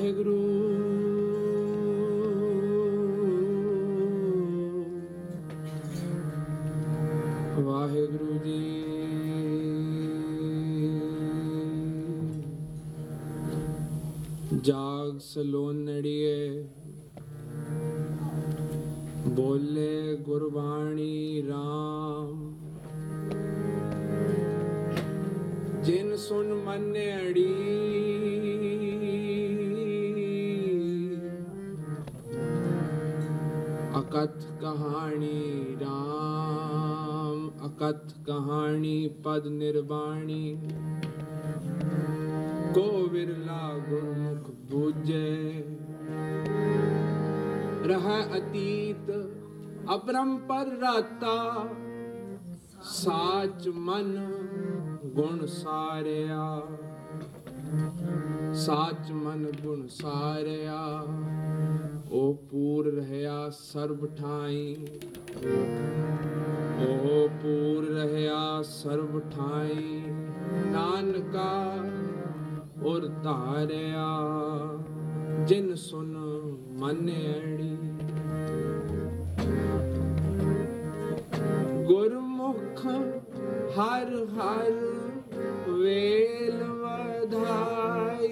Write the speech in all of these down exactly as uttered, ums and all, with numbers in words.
ਵਾਹਿਗੁਰੂ ਵਾਹਿਗੁਰੂ ਜੀ। ਜਾਗ ਸਲੋਨੜੀਏ ਬੋਲੇ ਗੁਰਬਾਣੀ ਰਾਮ, ਜਿਨ ਸੁਨ ਮੰਨੜੀ ਅਕਥ ਕਹਾਣੀ ਰਾਮ, ਅਕਥ ਕਹਾਣੀ ਪਦ ਨਿਰਵਾਣੀ। ਕੋ ਵਿਰਲਾ ਗੁਰਮੁਖ ਬੂਝੇ, ਰਹਿ ਅਤੀਤ ਅਪਰੰਪਰ ਰਾਤਾ। ਸਾਚ ਮਨ ਗੁਣ ਸਾਰਿਆ, ਸਾਚ ਮਨ ਗੁਣ ਸਾਰਿਆ। ਉਹ ਪੂਰ ਰਹਿਆ ਸਰਬ ਠਾਈ, ਉਹ ਪੂਰ ਰਹਿਆ ਸਰਬ ਠਾਈ। ਨਾਨਕਾ ਔਰ ਧਾਰਿਆ, ਜਿਨ ਸੁਨ ਮੰਨੜੀ। ਗੁਰਮੁਖ ਹਰ ਹਰ ਵੇਲ ਵਧਾਈ,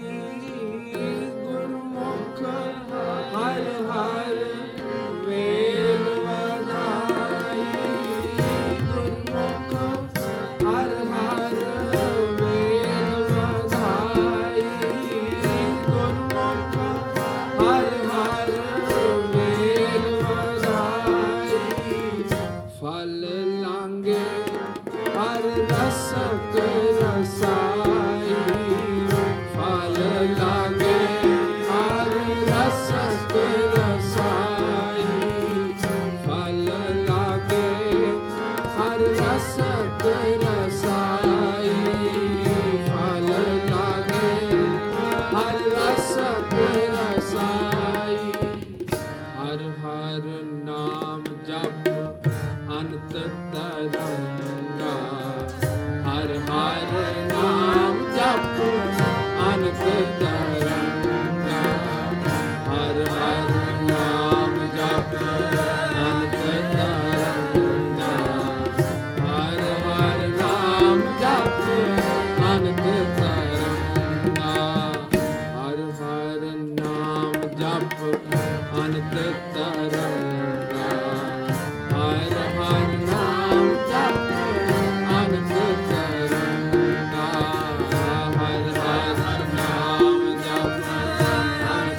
ਗੁਰਮੁਖ ਹਰ ਹਰ ਵੇਲ ਵਧਾਈ। ਗੁਰਮੁਖ ਹਰ ਹਰ ਵੇਲ ਵਧਾਈ, ਗੁਰਮੁਖ ਹਰ ਹਰ ਵੇਲ ਵਧਾਈ। ਫਲ ਲਾਂਗੇ ਹਰ ਰਸਕ ਰਸਾਈ, ਫਲ ਲਾਂਗੇ ਹਰ ਰਸਕ ਰਸਾਈ। ਫਲ ਲਾਂਗੇ ਹਰ ਰਸਕ ਰਸਾਈ, ਫਲ ਲਾਂਗੇ ਹਰ ਰਸਕ ਰਸਾਈ। ਹਰ ਹਰ ਨਾਮ ਜਪ ਅਨੰਤ ਤਰੰਗਾ, ਹਰ ਹਰ ਨਾਮ ਜਪ ਅਨੰਤ ਤਰੰਗਾ। ਹਰ ਹਰ ਨਾਮ ਜਪ ਅਨੰਤ ਤਰੰਗਾ, ਹਰ ਹਰ ਨਾਮ ਜਪ ਅਨੰਤ ਤਰੰਗਾ। ਹਰ ਹਰ ਨਾਮ ਜਪ ਅਨੰਤ ਤਰੰਗਾ, ਹਰ ਹਰ ਨਾਮ ਜਪ ਅਨੰਤ ਤਰੰਗਾ। ਹਰ ਹਰ ਨਾਮ ਜਪ ਅਨੰਤ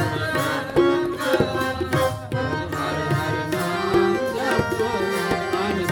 ਤਰੰਗਾ, ਹਰ ਨਾਮ ਜਪ ਅਨੰਤ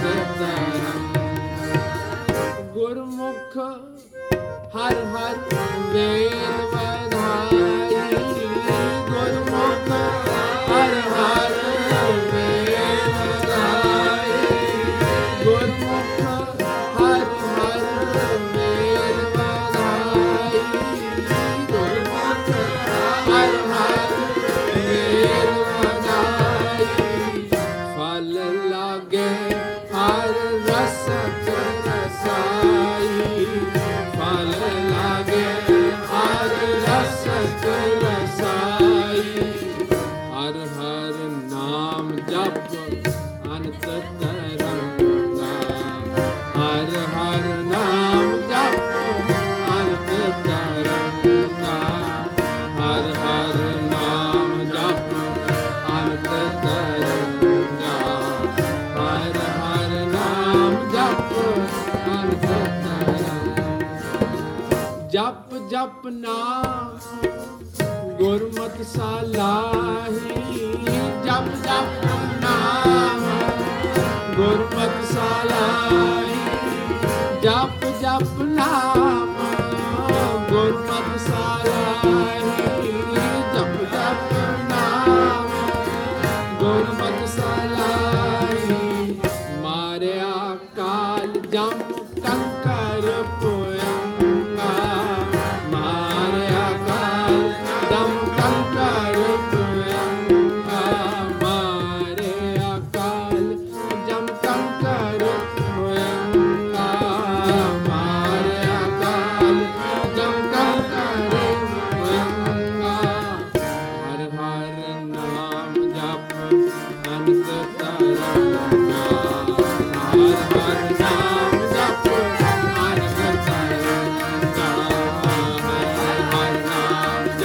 ਤਰੰਗਾ। ਗੁਰਮੁਖ ਹਰ ਹਰ ਵੇਲ ਵਧਾਈ, ਗੁਰਮੁਖ ਹਰ ਹਰ ਵੇਲ ਵਧਾਈ। ਗੁਰਮੁਖ ਹਰ ਹਰ ਵੇਲ ਵਧਾਈ, ਗੁਰਮੁਖ ਹਰ ਹਰ ਵੇਲ ਵਧਾਈ। ਫਲ ਲਾਗੇ ਹਰ ਰਸਕ ਰਸਾਈ, ਫਲ ਲਾਗੇ ਹਰ ਰਸਕ ਰਸਾਈ। ਹਰ ਹਰ ਨਾਮ ਜਪ ਅਨੰਤ ਤਰੰਗਾ, ਹਰ ਹਰ ਨਾਮ ਜਪ ਅਨੰਤ ਤਰੰਗਾ। ਹਰ ਹਰ ਨਾਮ ਜਪ ਅਨੰਤ ਤਰੰਗਾ, ਹਰ ਹਰ ਨਾਮ ਜਪ ਅਨੰਤ ਤਰੰਗਾ। ਜਪ ਜਪ ਨਾਮ ਗੁਰਮਤਿ ਸਲਾਹੀ, ਜਪ ਜਪ ਨਾਮ ਗੁਰਮਤਿ ਸਲਾਹੀ। ਜਪ ਜਪ ਨਾਮ ਗੁਰਮਤਿ ਸਲਾਹੀ, ਜਪ ਜਪ ਨਾਮ ਗੁਰਮਤਿ ਸਲਾਹੀ। ਮਾਰਿਆ ਕਾਲ ਜਮ ਕੰਕਰ ਪੁਯੰਗਾ, ਮਾਰਿਆ ਕਾਲ ਜਮ ਕੰਕਰ ਪੁਯੰਗਾ। ਮਾਰਿਆ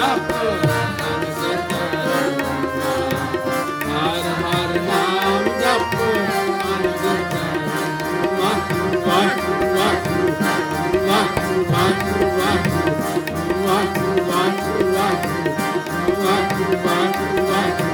ਜਪ ਅਨੰਦ ਤਰੰਗਾ ਹਰ ਹਰ ਨਾਮ ਜਪ ਅਨੰਦ ਤਰੰਗਾ ਵਾਹਿਗੁਰੂ ਵਾਹਿਗੁਰੂ ਵਾਹਿਗੁਰੂ ਵਾਹਿਗੁਰੂ ਵਾਹਿਗੁਰੂ ਵਾਹਿਗੁਰੂ ਵਾਹਿਗੁਰੂ ਵਾਹਿਗੁਰੂ ਵਾਹਿਗੁਰੂ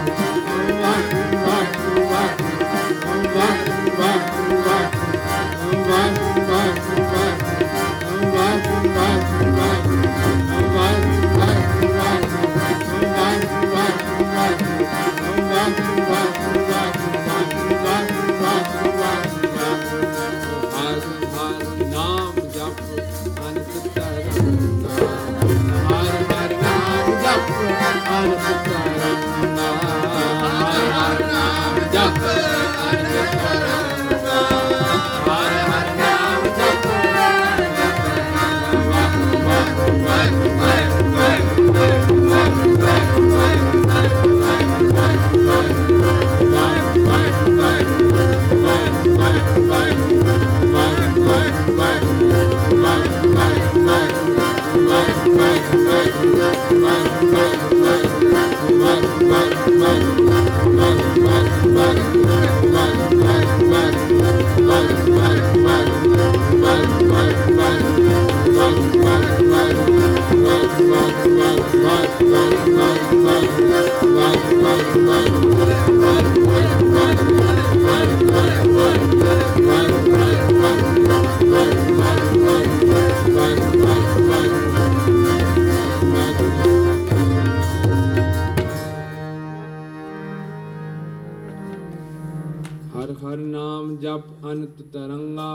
ਹਰ ਹਰ ਨਾਮ ਜਪ ਅਨੰਤ ਤਰੰਗਾ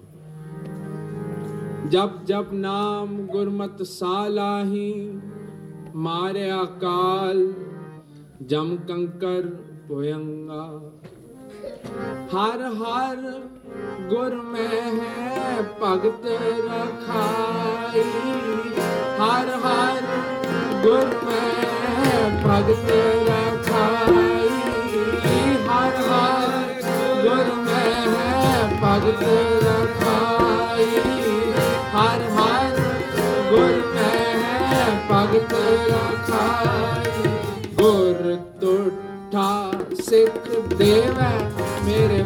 ਜਪ ਜਪ ਨਾਮ ਗੁਰਮਤਿ ਸਾਲਾਹੀ ਮਾਰਿਆ ਕਾਲ ਜਮ ਕੰਕਰ ਭੁਯੰਗਾ ਹਰ ਹਰ ਗੁਰ ਮੈਂ ਹੈ ਭਗਤ ਰਖਾਈ ਹਰ ਹਰ ਗੁਰ ਮੈਂ ਭਗਤ ਰਖਾਈ ਹਰ ਹਰ ਗੁਰ ਮੈਂ ਹੈ ਭਗਤ ਰਖਾਈ ਹਰ ਹਰ ਗੁਰ ਮੈਂ ਹੈ ਭਗਤ ਰਖਾਈ ਗੁਰ ਤੁਠਾ ਸਿੱਖ ਦੇਵੈ ਮੇਰੇ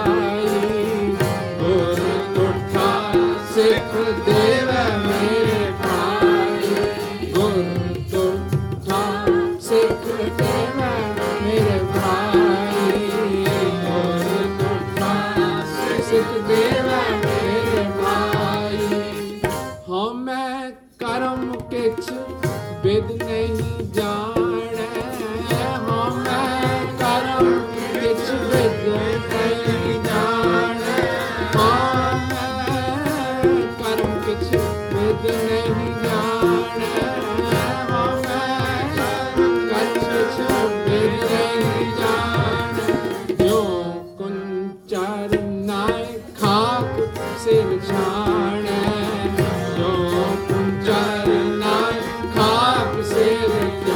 ਭਾਈ ਗੁਰ ਤੁਠਾ ਸਿੱਖ ਦੇਵੈ ਮੇਰੇ ਭਾਈ ਗੁਰ ਤੁਠਾ ਸਿੱਖ ਦੇਵੈ ਮੇਰੇ ਭਾਈ ਗੁਰ ਤੁਠਾ ਸਿੱਖ ਦੇਵੈ ਮੇਰੇ ਭਾਈ ਹਉ ਮੈਂ ਕਰਮ ਕਿਛ ਬਿਦ ਨਹੀਂ ਜਾਣੈ ਹਉ ਮੈਂ ਕਰਮ ਕਿਛ ਬਿਦ ਨਹੀਂ ਜਾਣੈ ਹਉ ਮੈਂ ਕਰਮ ਕਿਛ ਬਿਦ ਨਹੀਂ ਜਾਣੈ ਹਉ ਮੈਂ ਕਰਮ ਕਿਛ ਬਿਦ ਨਹੀਂ ਜਾਣੈ ਜਿਉ ਕੁੰਚਰ ਨਾਇ ਖਾਕ ਸਿਰ ਛਾਣੈ ਜਿਉ ਕੁੰਚਰ ਨਾਇ ਖਾਕ ਸਿਰ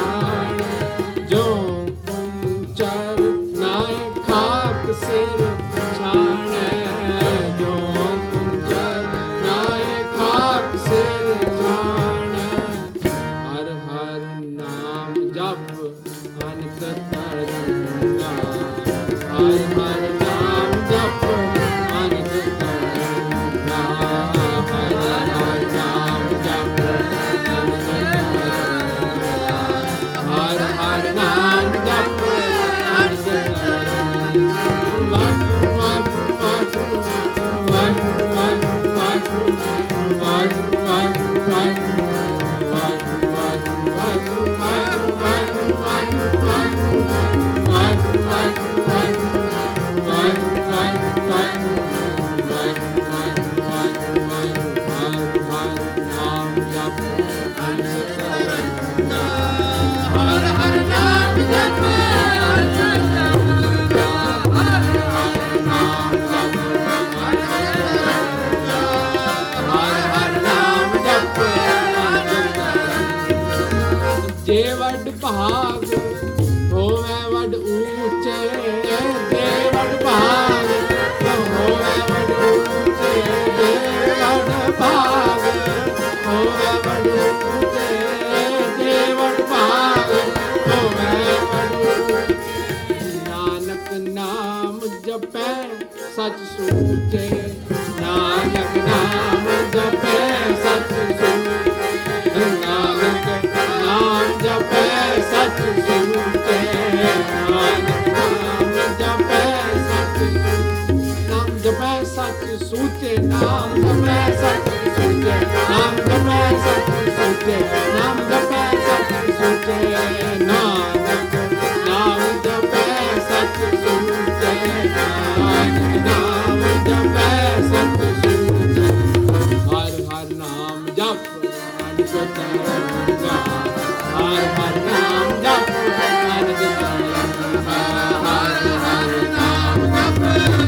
ਛਾਣੈ ਜਿਉ ਕੁੰਚਰ ਨਾਇ ਖਾਕ ਸਿਰ ਛਾਣੈ ਜਿਉ ਕੁੰਚਰ ਨਾਇ ਖਾਕ ਸਿਰ ਛਾਣੈ ਹਰ ਹਰ ਨਾਮ ਜਪ ਅਨੰਤ ਤਰੰਗਾ ਹਰ ਹਰ ਨਾਮ ਜਪ ਅਨੰਤ ਤਰੰਗਾ ਹਰ ਹਰ ਨਾਮ ਜਪ ਅਨੰਤ ਤਰੰਗਾ ਹਰ ਹਰ ਨਾਮ ਜਪ ਅਨੰਤ ਤਰੰਗਾ ਵਾਹਿਗੁਰੂ ਵਾਹਿਗੁਰੂ ਵਾਹਿਗੁਰੂ ਵਾਹਿਗੁਰੂ ਵਾਹਿਗੁਰੂ ਵਾਹਿਗੁਰੂ ਵਾਹਿਗੁਰੂ ਵਾਹਿਗੁਰੂ ਵਾਹਿਗੁਰੂ ਵਾਹਿਗੁਰੂ ਜੇ ਵੱਡ ਭਾਗ ਹੋਵੇ ਵੱਡ ਉੱਚੇ ਜੇ ਵੱਡ ਭਾਗ ਹੋਵੇ ਵੱਡ ਉੱਚੇ ਜੇ ਵੱਡ ਭਾਗ ਹੋਵੇ ਵੱਡ ਉੱਚੇ ਜੇ ਵੱਡ ਸੂਚੇ ਨਾਨਕ ਨਾਮ ਜਪੈ ਸਚ ਸੂਚੇ ਨਾਨਕ ਨਾਮ ਜਪੈ ਸਚ ਸੂਚੇ ਨਾਨਕ ਨਾਮ ਜਪੈ ਸਚ ਨਾਮ ਜਪੈ ਸਚ ਸੂਚੇ ਨਾਮ ਜਪੈ ਸਚ ਸੂਚੇ ਨਾਮ ਜਪੈ ਸਚ ਸੂਚੇ ਨਾਮ ਜਪੈ ਸਚ ਸੂਚੇ ਨਾਨਕ ਨਾਮ ਜਪੈ ਸਚ ਸੂਚੇ ਨਾਨਕ ਨਾਮ ਜਪੈ ਸਚ ਸੂਚੇ ਹਰ ਹਰ ਨਾਮ ਜਪ ਅਨੰਦ ਤਰੰਗਾ ਹਰ ਹਰ ਨਾਮ ਜਪ ਅਨੰਦ ਤਰੰਗਾ ਹਰ ਹਰ ਨਾਮ ਜਪ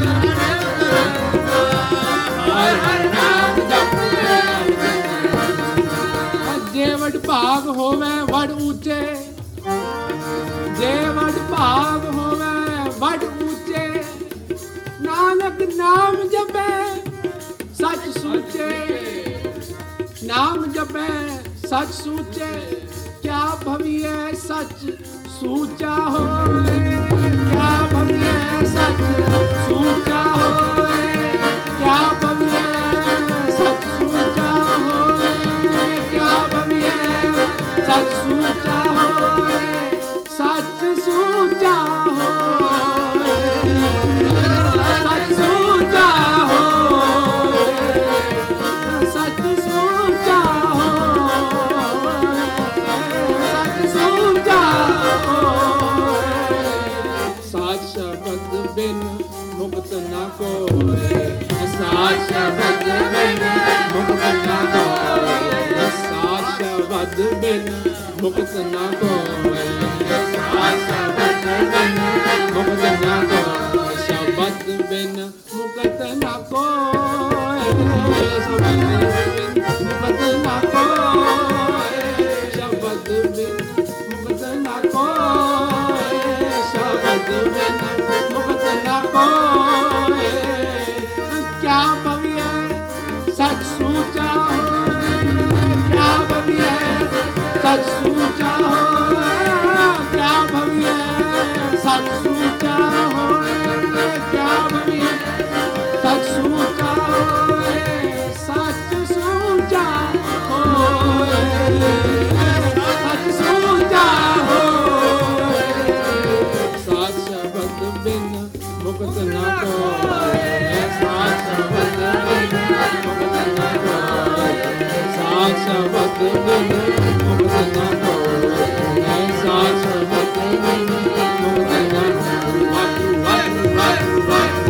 ਹਰ ਹਰ ਨਾਮ ਜਪ ਜੇ ਵਡ ਭਾਗ ਹੋਵੇ ਵਡ ਉੱਚੇ ਜੇ ਵਡ ਭਾਗ ਹੋਵੇ ਵਡ ਉੱਚੇ ਨਾਨਕ ਨਾਮ ਜਪੈ ਸਚ ਸੂਚੇ ਨਾਮ ਜਪੈ ਸਚ ਸੂਚੇ ਕਿਆ ਭਵੀਐ ਸਚ ਸੂਚਾ ਹੋਏ ਕਿਆ ਭਵੀਐ ਸਚ ਸੂਚਾ ਹੋਏ ਕਿਆ ਭਵੀਐ ਸਚ ਸੂਚਾ ਹੋਏ ਕਿਆ ਭਵੀਐ ਸਚ ਸੂਚਾ ਹੋਏ ਸਚ ਸੂਚਾ ਹੋਏ ਸਚ ਸੂਚਾ ਹੋਏ ਸਚ ਸੂਚਾ ਹੋਏ ਸਚ ਸੂਚਾ ਹੋਏ ਸਾਚ ਸ਼ਬਦ ਬਿਨ ਮੁਕਤ ਨਾ ਕੋਏ ਸਾਚ ਸ਼ਬਦ ਬਿਨ ਮੁਕਤ ਨਾ ਕੋਏ ਸਾਚ ਸ਼ਬਦ ਬਿਨ ਮੁਕਤ ਨਾ ਕੋਏ ਸਾਚ ਸ਼ਬਦ ਬਿਨ ਮੁਕਤ ਨਾ ਕੋਏ ਸ਼ਬਦ ਬਿਨ ਮੁਕਤ ਨਾ ਕੋਏ ਸ਼ਬਦ ਬਿਨ ਮੁਕਤ ਨਾ ਕੋਏ ਸ਼ਬਦ ਬਿਨ ਮੁਕਤ ਨਾ ਕੋਏ ਸ਼ਬਦ ਬਿਨ ਮੁਕਤ ਨਾ ਕੋਏ ਕਿਆ ਭਵੀਐ ਸਚ ਸੂਚਾ ਹੋਏ ਕਿਆ ਭਵੀਐ ਸਚ ਸੂਚਾ ਹੋਏ ਕਿਆ ਭਵੀਐ ਸਚ ਸੂਚਾ ਹੋਏ ਕਿਆ ਭਵੀਐ ਸਚ ਸੂਚਾ ਹੋਏ ਸਚ ਸੂਚਾ ਹੋਏ ਸਚ ਸੂਚਾ ਹੋਏ ਸਾਚ ਸ਼ਬਦ ਬਿਨ ਮੁਕਤ ਨਾ ਕੋਏ ਸਾਚ ਸ਼ਬਦ ਬਿਨ ਮੁਕਤ ਨਾ ਕੋਏ ਸਾਚ ਸ਼ਬਦ ਬਿਨ ਮੁਕਤ ਨਾ ਕੋਏ ਸਾਚ ਸ਼ਬਦ ਬਿਨ ਮੁਕਤ ਨਾ ਕੋਏ ਵਾਹਿਗੁਰੂ ਵਾਹਿਗੁਰੂ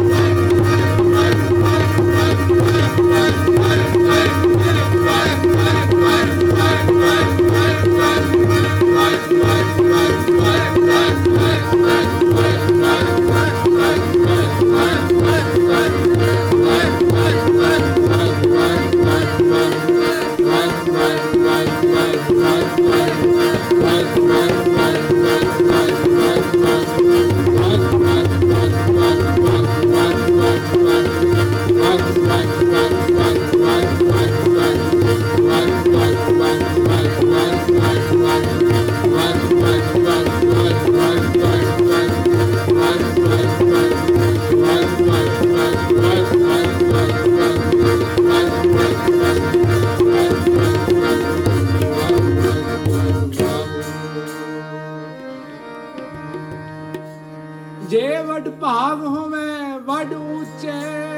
ਜੇ ਵਡ ਭਾਗ ਹੋਵੇ ਵਡ ਉੱਚੇ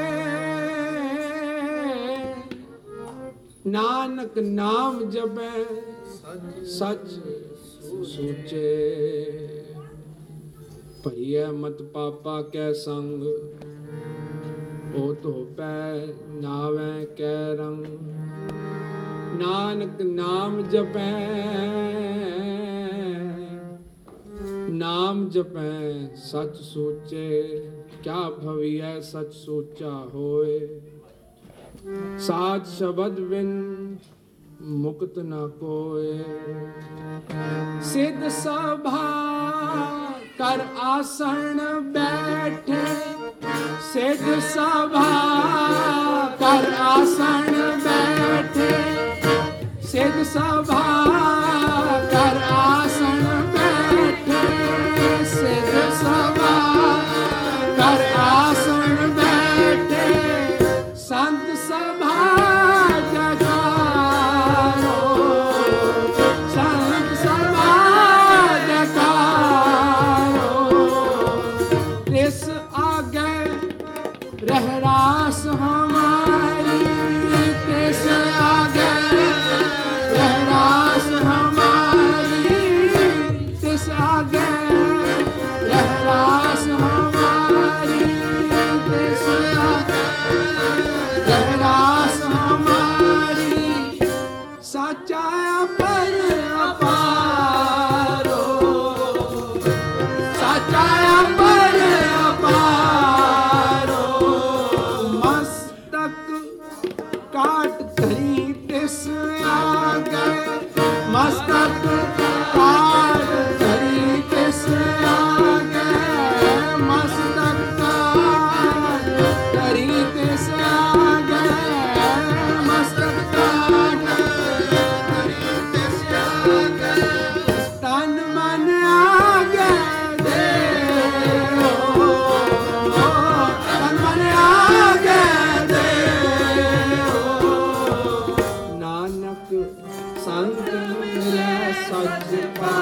ਨਾਨਕ ਨਾਮ ਜਪੈ ਸਚ ਸੂਚੇ ਭਈਐ ਮਤ ਪਾਪਾ ਕੈ ਸੰਗ ਓ ਧੋਪੈ ਨਾਵੇਂ ਕੈ ਰੰਗ ਨਾਨਕ ਨਾਮ ਜਪੈ ਨਾਮ ਜਪੈ ਸਚ ਸੋਚੇ ਕਿਆ ਭਵੀਐ ਸਚ ਸੋਚਾ ਹੋਏ ਸਾਚ ਸ਼ਬਦ ਬਿਨ ਮੁਕਤ ਨਾ ਕੋਏ ਸਿੱਧ ਸਭਾ ਕਰ ਆਸਣ ਬੈਠੇ ਸਿੱਧ ਸਭਾ ਕਰ ਆਸਣ ਬੈਠੇ ਸਿੱਧ ਸਭਾ ਕਰ ਆਸਣ ਬੈਠੇ ਸਿੱਧ ਸਭਾ ਕਰ ਆਸਣ ਬੈਠੇ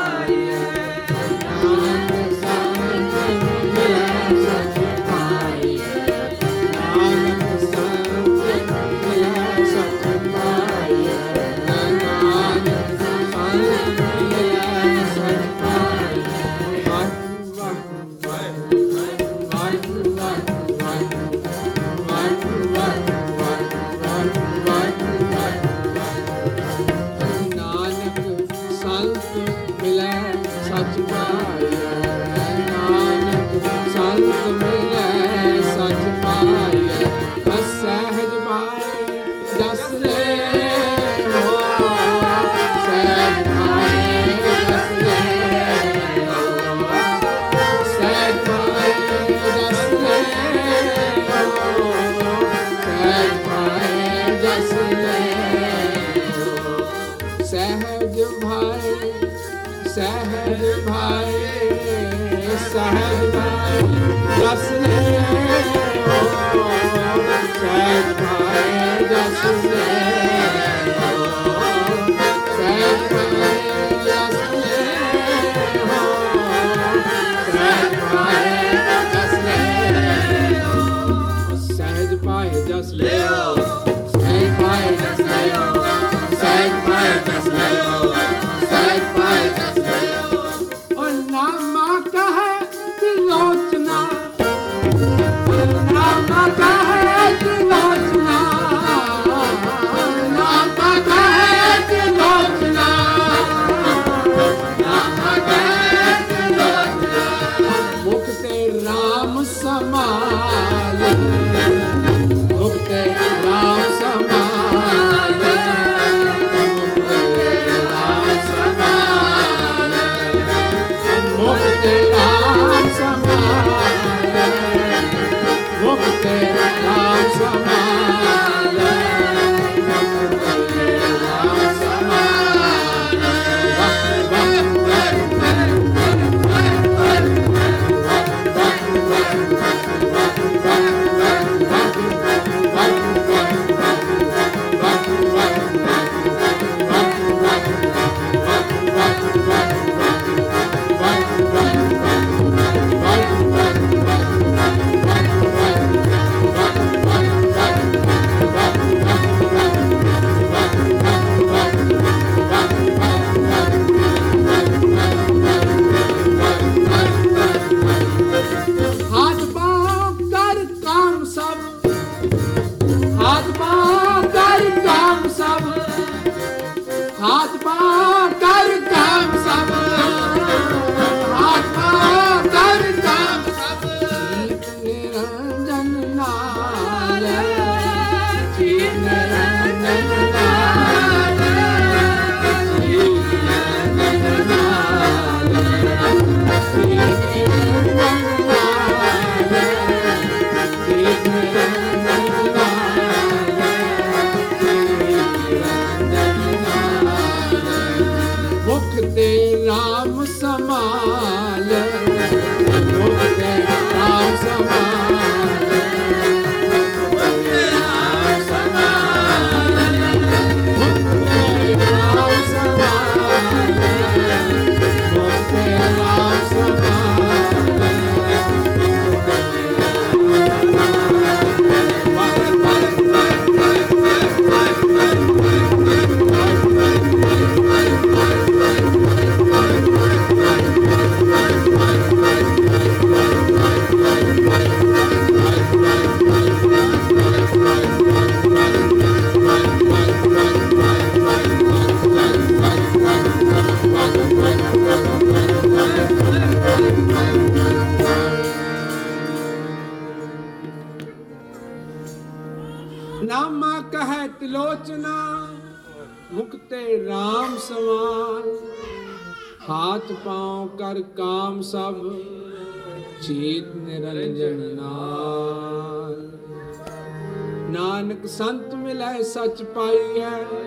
संत मिलै सच पाइए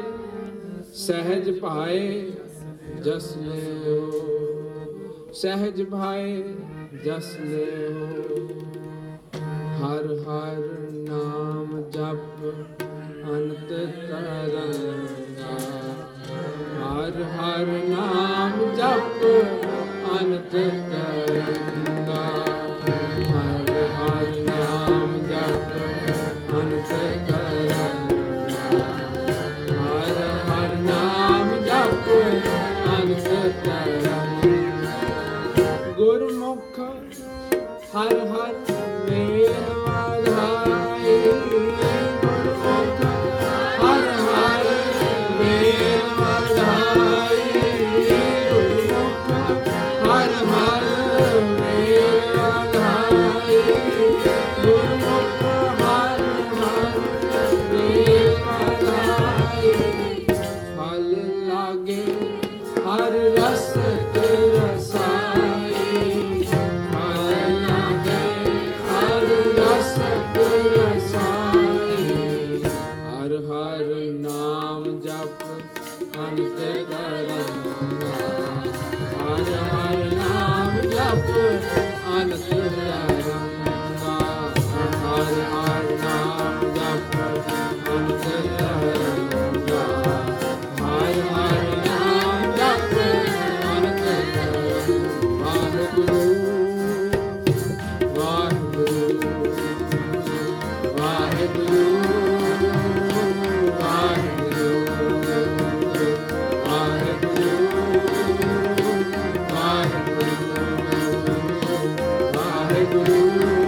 सहज भाए जस ले हो, सहज भाए जस ले हो। हर हर नाम जप अनंत तरंगा, ਹਰ ਹਰ ਨਾਮ ਜਪ ਅਨੰਤ ਕਰਨਾ, ਹਰ ਹਰ ਨਾਮ ਜਪ ਅਨੰਤ ਕਰਨਾ, ਹਰ ਹਰ ਨਾਮ ਜਪ ਅਨੰਤ ਕਰਨਾ। ਗੁਰਮੁਖ ਹਰ ਹਰ ਮੇਲ ਵਾਧਾਈ, ਗੁਰਮੁਖ ਹਰ ਹਰ ਮੇਲ ਵਾਧਾਈ, ਗੁਰਮੁਖ ਹਰ ਹਰ ਮੇਲ ਵਾਧਾਈ, ਗੁਰਮੁਖ ਹਰ ਹਰ ਮੇਲ ਵਾਧਾਈ। ਫਲ ਲਾਗੇ ਹਰ ਰਸ ਤੇ ਰਸਾਈ, ਫਲ ਲਾਗੇ ਹਰ ਰਸ ਤੇ ਰਸਾਈ, ਹਰ ਹਰ ਨਾਮ ਜਪ ਅਨੰਤ ਕਰਨਾ, ਹਰ ਹਰ ਨਾਮ ਜਪ ਅਨੰਤ ਕਰਨਾ, ਹਰ ਹਰ ਨਾਮ ਜਪ ਅਨੰਤ ਕਰਨਾ, ਹਰ ਹਰ ਨਾਮ ਜਪ ਅਨੰਤ ਕਰਨਾ। ਵਾਹਿਗੁਰੂ ਵਾਹਿਗੁਰੂ ਵਾਹਿਗੁਰੂ ਵਾਹਿਗੁਰੂ ਵਾਹਿਗੁਰੂ ਵਾਹਿਗੁਰੂ ਵਾਹਿਗੁਰੂ